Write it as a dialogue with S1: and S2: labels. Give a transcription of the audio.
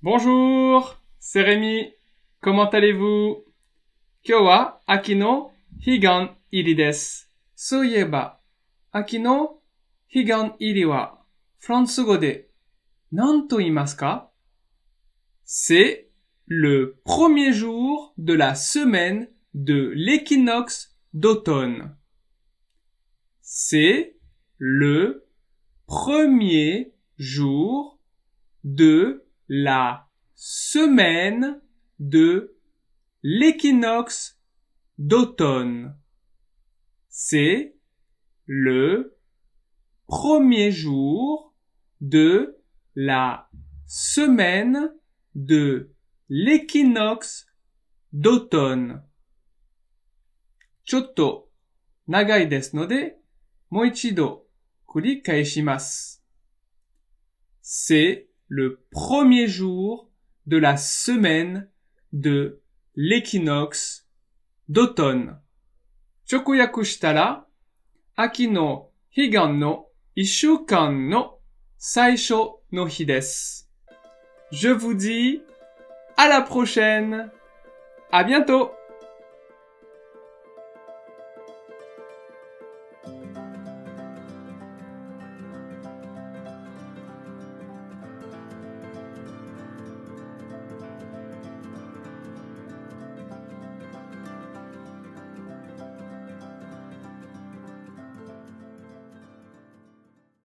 S1: Bonjour, c'est Rémi. Comment allez-vous? 今日は秋の彼岸入りです。そういえば、秋の彼岸入りはフランス語で何と言いますか? C'est le premier jour de la semaine de l'équinoxe d'automne. C'est le premier jour de la semaine de l'équinoxe d'automne. C'est le premier jour de la semaine de l'équinoxe d'automne. ちょっと長いですので、もう一度繰り返します。C'est le premier jour de la semaine de l'équinoxe d'automne. 直訳したら、秋の彼岸の一週間の最初の日です。Je vous dis à la prochaine. À bientôt.